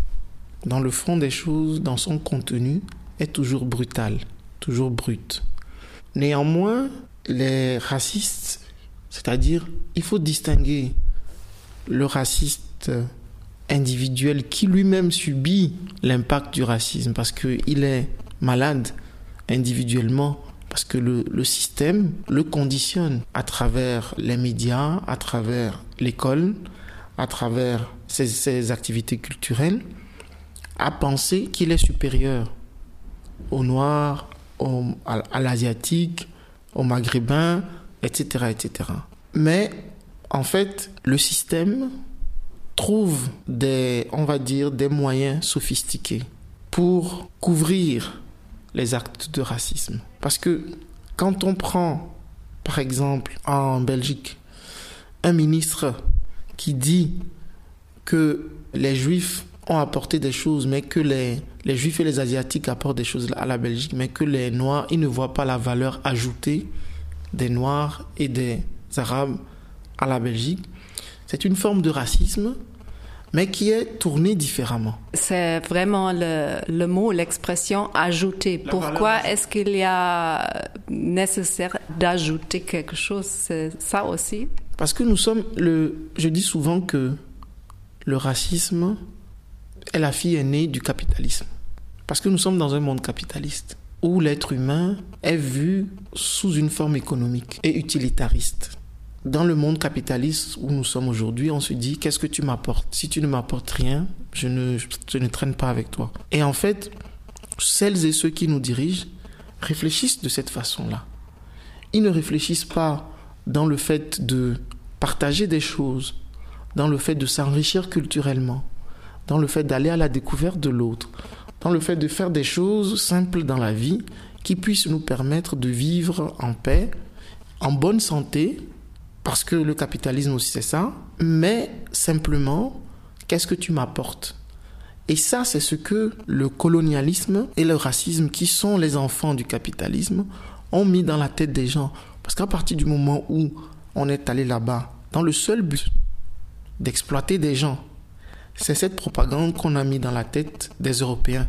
des choses, dans son contenu, est toujours brutal, toujours brut. Néanmoins, les racistes, c'est-à-dire, il faut distinguer le raciste individuel qui lui-même subit l'impact du racisme parce qu'il est malade individuellement, parce que le système le conditionne à travers les médias, à travers l'école, à travers ses activités culturelles, à penser qu'il est supérieur aux Noirs, à l'Asiatique, aux Maghrébins, etc., etc. Mais, en fait, le système trouve des moyens sophistiqués pour couvrir les actes de racisme. Parce que quand on prend, par exemple, en Belgique, un ministre qui dit que les Juifs ont apporté des choses, mais que les Juifs et les Asiatiques apportent des choses à la Belgique, mais que les Noirs, ils ne voient pas la valeur ajoutée des Noirs et des Arabes à la Belgique. C'est une forme de racisme, mais qui est tournée différemment. C'est vraiment le mot, l'expression « ajouter ». Pourquoi est-ce qu'il y a nécessaire d'ajouter quelque chose? C'est ça aussi? Parce que je dis souvent que le racisme est la fille aînée du capitalisme. Parce que nous sommes dans un monde capitaliste où l'être humain est vu sous une forme économique et utilitariste. Dans le monde capitaliste où nous sommes aujourd'hui, on se dit « qu'est-ce que tu m'apportes? Si tu ne m'apportes rien, je ne traîne pas avec toi. » Et en fait, celles et ceux qui nous dirigent réfléchissent de cette façon-là. Ils ne réfléchissent pas dans le fait de partager des choses, dans le fait de s'enrichir culturellement, dans le fait d'aller à la découverte de l'autre, dans le fait de faire des choses simples dans la vie qui puissent nous permettre de vivre en paix, en bonne santé, parce que le capitalisme aussi c'est ça, mais simplement, qu'est-ce que tu m'apportes? Et ça, c'est ce que le colonialisme et le racisme, qui sont les enfants du capitalisme, ont mis dans la tête des gens. Parce qu'à partir du moment où on est allé là-bas, dans le seul but d'exploiter des gens, c'est cette propagande qu'on a mis dans la tête des Européens.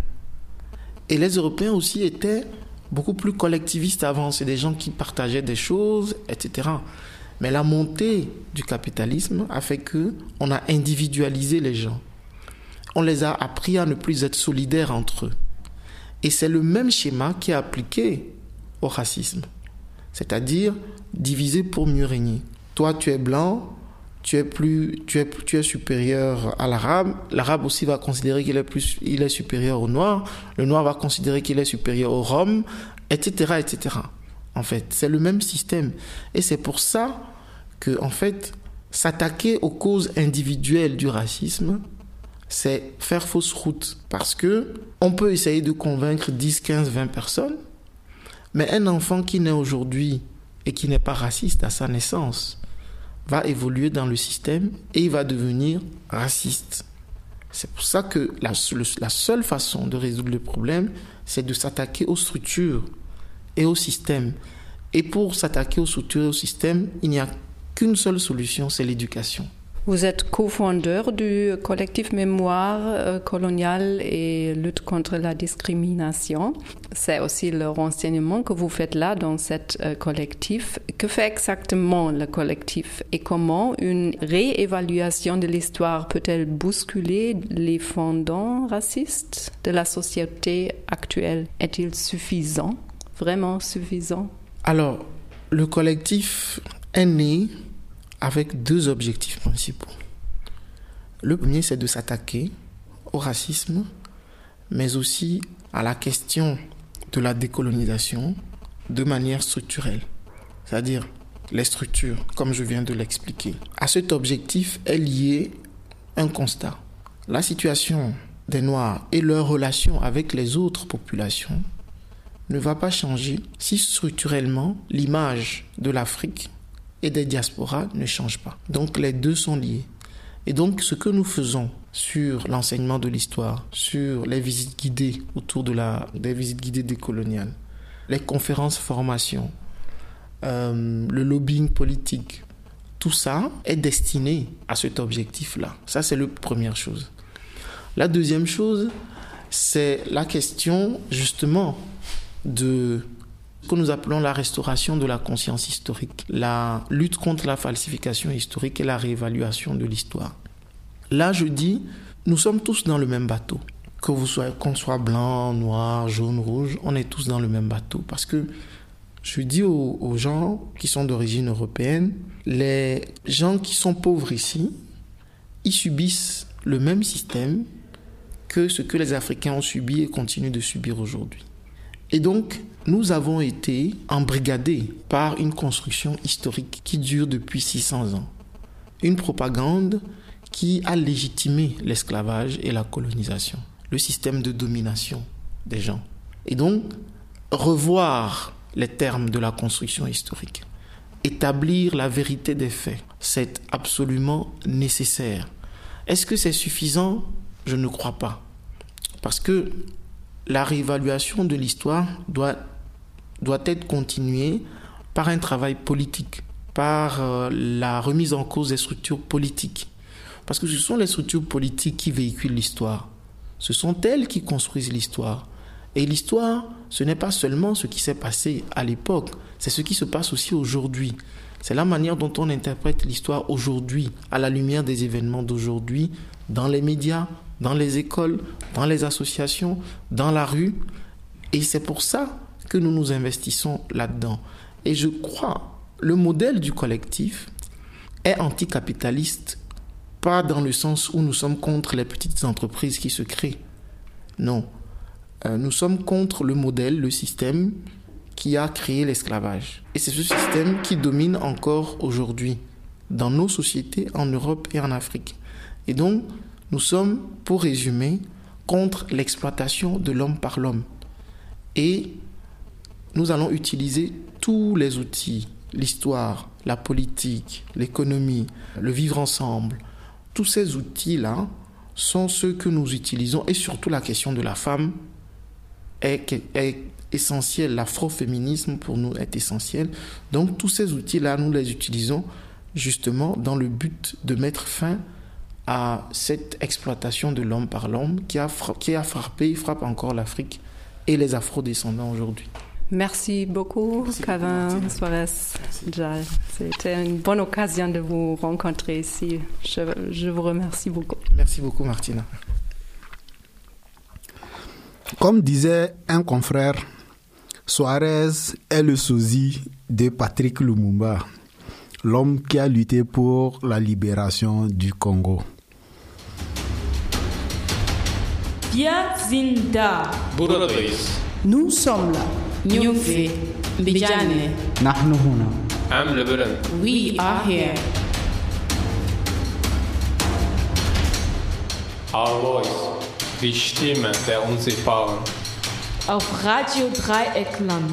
Et les Européens aussi étaient beaucoup plus collectivistes avant. C'est des gens qui partageaient des choses, etc. Mais la montée du capitalisme a fait qu'on a individualisé les gens. On les a appris à ne plus être solidaires entre eux. Et c'est le même schéma qui est appliqué au racisme. C'est-à-dire diviser pour mieux régner. Toi, tu es blanc, tu es supérieur à l'arabe. L'arabe aussi va considérer qu'il est supérieur au noir. Le noir va considérer qu'il est supérieur au rhum, etc., etc. En fait, c'est le même système. Et c'est pour ça que, en fait, s'attaquer aux causes individuelles du racisme, c'est faire fausse route. Parce que on peut essayer de convaincre 10, 15, 20 personnes, mais un enfant qui naît aujourd'hui et qui n'est pas raciste à sa naissance va évoluer dans le système et il va devenir raciste. C'est pour ça que la seule façon de résoudre le problème, c'est de s'attaquer aux structures et au système. Et pour s'attaquer aux structures et au système, il n'y a qu'une seule solution, c'est l'éducation. Vous êtes cofondeur du collectif Mémoire coloniale et lutte contre la discrimination. C'est aussi le renseignement que vous faites là dans cet collectif. Que fait exactement le collectif et comment une réévaluation de l'histoire peut-elle bousculer les fondements racistes de la société actuelle? Est-il suffisant, vraiment suffisant? Alors, le collectif est né avec 2 objectifs principaux. Le premier, c'est de s'attaquer au racisme, mais aussi à la question de la décolonisation de manière structurelle, c'est-à-dire les structures, comme je viens de l'expliquer. À cet objectif est lié un constat. La situation des Noirs et leur relation avec les autres populations ne va pas changer si structurellement l'image de l'Afrique et des diasporas ne changent pas. Donc les 2 sont liés. Et donc ce que nous faisons sur l'enseignement de l'histoire, sur les visites guidées autour des visites guidées décoloniales, les conférences formation, le lobbying politique, tout ça est destiné à cet objectif-là. Ça, c'est la première chose. La deuxième chose, c'est la question justement de ce que nous appelons la restauration de la conscience historique, la lutte contre la falsification historique et la réévaluation de l'histoire. Là, je dis, nous sommes tous dans le même bateau. Qu'on soit blanc, noir, jaune, rouge, on est tous dans le même bateau. Parce que je dis aux gens qui sont d'origine européenne, les gens qui sont pauvres ici, ils subissent le même système que ce que les Africains ont subi et continuent de subir aujourd'hui. Et donc, nous avons été embrigadés par une construction historique qui dure depuis 600 ans. Une propagande qui a légitimé l'esclavage et la colonisation, le système de domination des gens. Et donc, revoir les termes de la construction historique, établir la vérité des faits, c'est absolument nécessaire. Est-ce que c'est suffisant? Je ne crois pas. Parce que la réévaluation de l'histoire doit être continuée par un travail politique, par la remise en cause des structures politiques. Parce que ce sont les structures politiques qui véhiculent l'histoire. Ce sont elles qui construisent l'histoire. Et l'histoire, ce n'est pas seulement ce qui s'est passé à l'époque, c'est ce qui se passe aussi aujourd'hui. C'est la manière dont on interprète l'histoire aujourd'hui, à la lumière des événements d'aujourd'hui, dans les médias, dans les écoles, dans les associations, dans la rue. Et c'est pour ça que nous nous investissons là-dedans. Et je crois, le modèle du collectif est anticapitaliste, pas dans le sens où nous sommes contre les petites entreprises qui se créent. Non. Nous sommes contre le modèle, le système qui a créé l'esclavage. Et c'est ce système qui domine encore aujourd'hui dans nos sociétés, en Europe et en Afrique. Et donc, nous sommes, pour résumer, contre l'exploitation de l'homme par l'homme. Et nous allons utiliser tous les outils, l'histoire, la politique, l'économie, le vivre ensemble. Tous ces outils-là sont ceux que nous utilisons, et surtout la question de la femme est essentielle. L'afroféminisme pour nous est essentiel. Donc tous ces outils-là, nous les utilisons justement dans le but de mettre fin à cette exploitation de l'homme par l'homme qui a frappé, frappe encore l'Afrique et les afrodescendants aujourd'hui. Merci beaucoup, Calvin Suarez Njal. C'était une bonne occasion de vous rencontrer ici. Je vous remercie beaucoup. Merci beaucoup, Martina. Comme disait un confrère, Suarez est le sosie de Patrick Lumumba, l'homme qui a lutté pour la libération du Congo. Biazinda. Nous sommes là. Nyumfi, Mbijane. Nahnu huna. We are here. Our voice, die Stimme der Unsichtbaren. Auf Radio Dreieckland.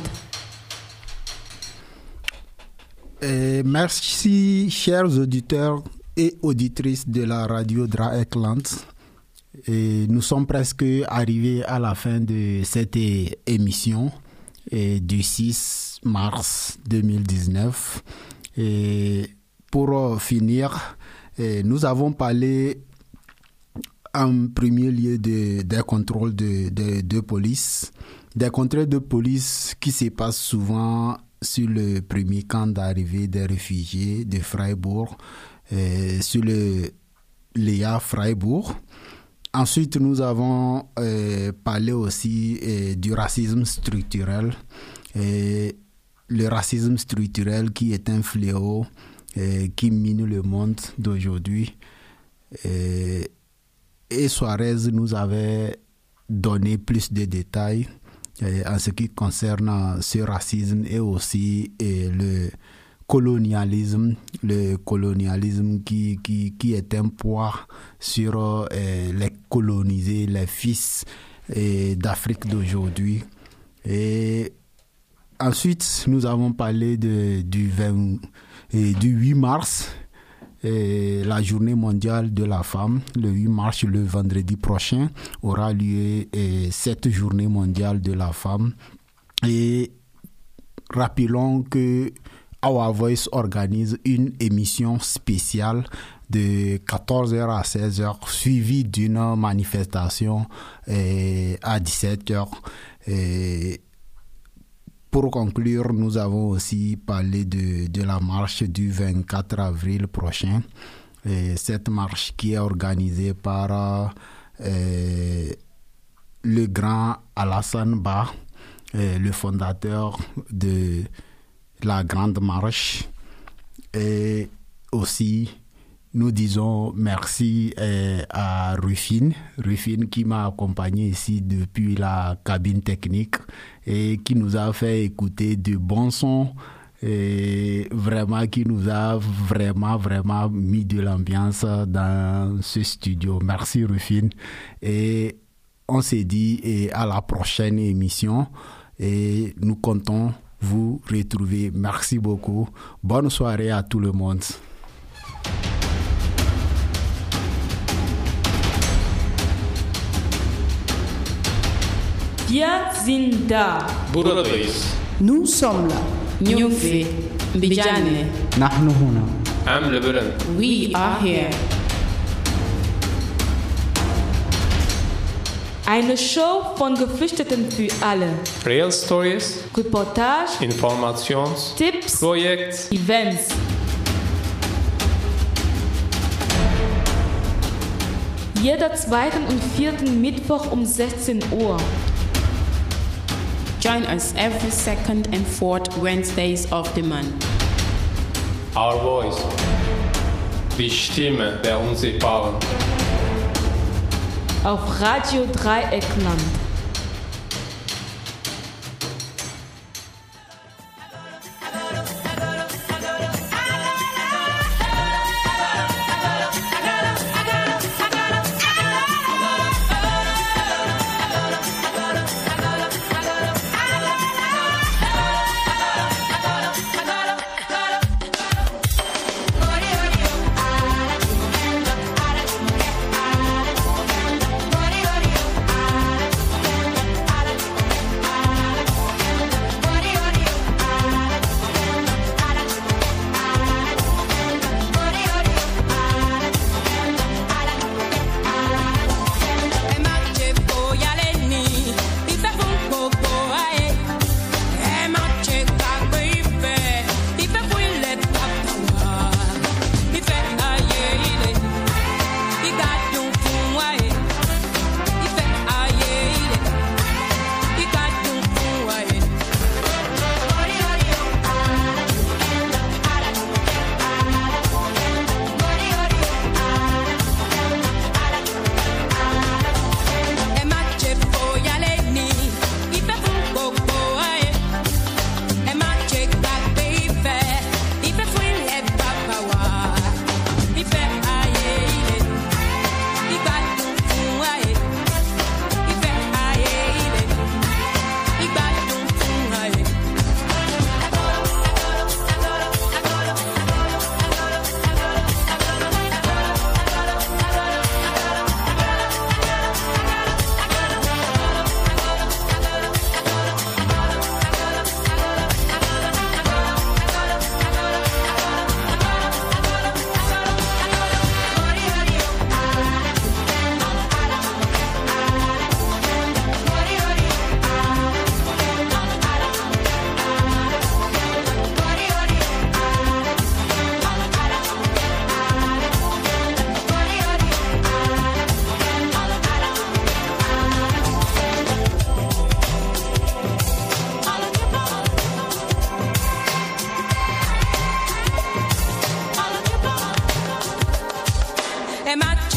Merci, chers auditeurs et auditrices de la radio Dreieckland. Et nous sommes presque arrivés à la fin de cette émission du 6 mars 2019. Et pour finir, Nous avons parlé en premier lieu des contrôles de police. Des contrôles de police qui se passent souvent sur le premier camp d'arrivée des réfugiés de Freiburg, sur le Léa Freiburg. Ensuite, nous avons parlé aussi du racisme structurel. Le racisme structurel qui est un fléau qui mine le monde d'aujourd'hui. Et Suarez nous avait donné plus de détails en ce qui concerne ce racisme et aussi le colonialisme qui est un poids sur les colonisés, les fils d'Afrique d'aujourd'hui. Et ensuite, nous avons parlé du 8 mars, la journée mondiale de la femme. Le 8 mars, le vendredi prochain, aura lieu cette journée mondiale de la femme. Et rappelons que Our Voice organise une émission spéciale de 14h à 16h, suivie d'une manifestation à 17h. Pour conclure, nous avons aussi parlé de la marche du 24 avril prochain. Cette marche qui est organisée par le grand Alassane Ba, le fondateur de la Grande Marche. Et aussi, nous disons merci à Rufine qui m'a accompagné ici depuis la cabine technique et qui nous a fait écouter de bons sons et vraiment qui nous a vraiment mis de l'ambiance dans ce studio. Merci Rufine. Et on s'est dit à la prochaine émission et nous comptons vous retrouver. Merci beaucoup. Bonne soirée à tout le monde. Wir sind da. Buradayız. Nous sommes là. Nyumfi, Mbijane. نحن هنا. Am Lebanon. We are here. Eine Show von Geflüchteten für alle. Real Stories, Reportage, Informations, Tipps, Projekt, Events. Jeder zweiten und vierten Mittwoch um 16 Uhr. Join us every second and fourth Wednesdays of the month. Our Voice, die Stimme der Unsichtbaren. Auf Radio Dreieckland.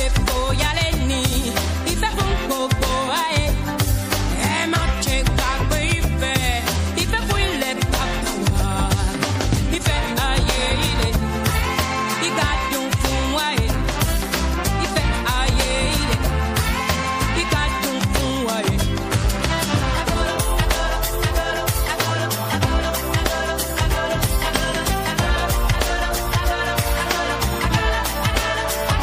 faut y aller.